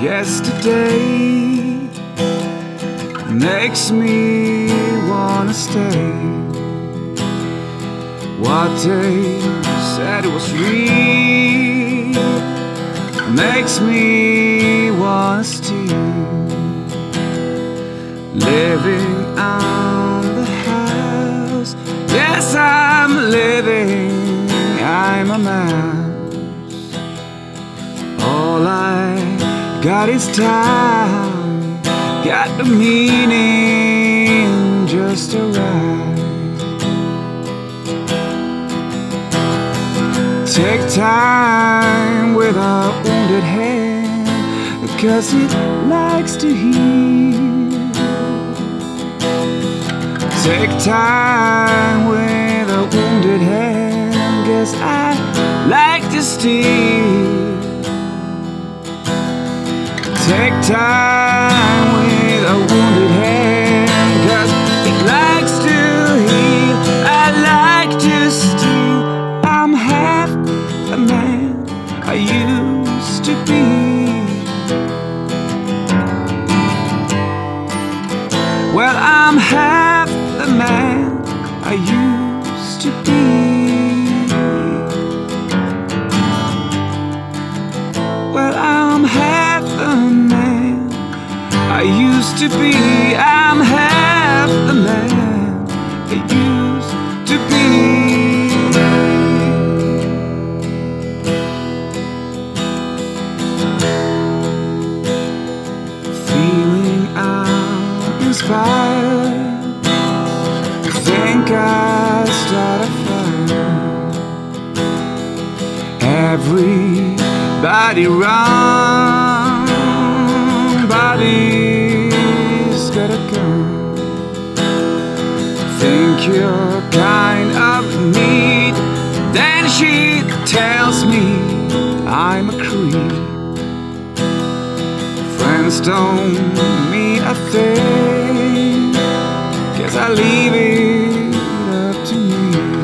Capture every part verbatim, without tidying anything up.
yesterday makes me wanna stay. What they said was real makes me wanna steal. Living on the house, yes, I'm living, I'm a mouse. All I got is time, got the meaning just to ride. Take time with a wounded hand, because it likes to heal. Take time with a wounded hand, guess I like to steal. Take time with a wounded hand, cause it likes to heal. I like to steal. I'm half the man I used to be. Well, I'm half the man I used to be. Well, I'm half the man I used to be. I'm half the man I used to be. Feeling uninspired, think I start a fire. Everybody run, body's got a gun. Think you're kind of neat, then she tells me I'm a creep. Friends don't mean a thing, guess I leave it up to me.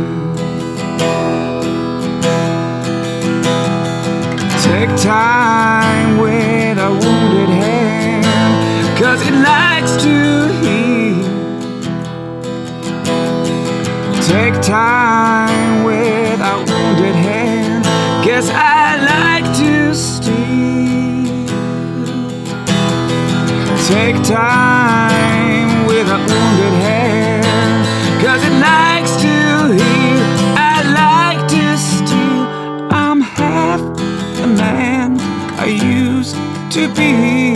Take time with a wounded hand, cause it likes to heal. Take time with a wounded hand, guess I like to steal. Take time with a wounded hand, cause it likes to heal. I like to steal. I'm half the man I used to be.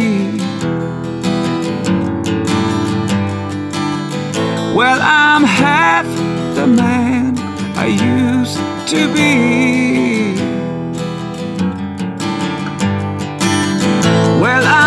Well, I'm half the man I used to be. Well, I